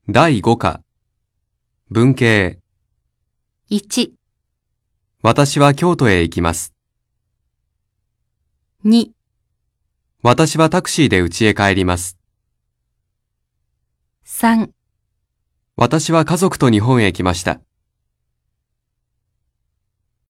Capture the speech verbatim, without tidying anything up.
だいご課文系。 いち、 私は京都へ行きます。 に、 私はタクシーで家へ帰ります。 さん、 私は家族と日本へ来ました。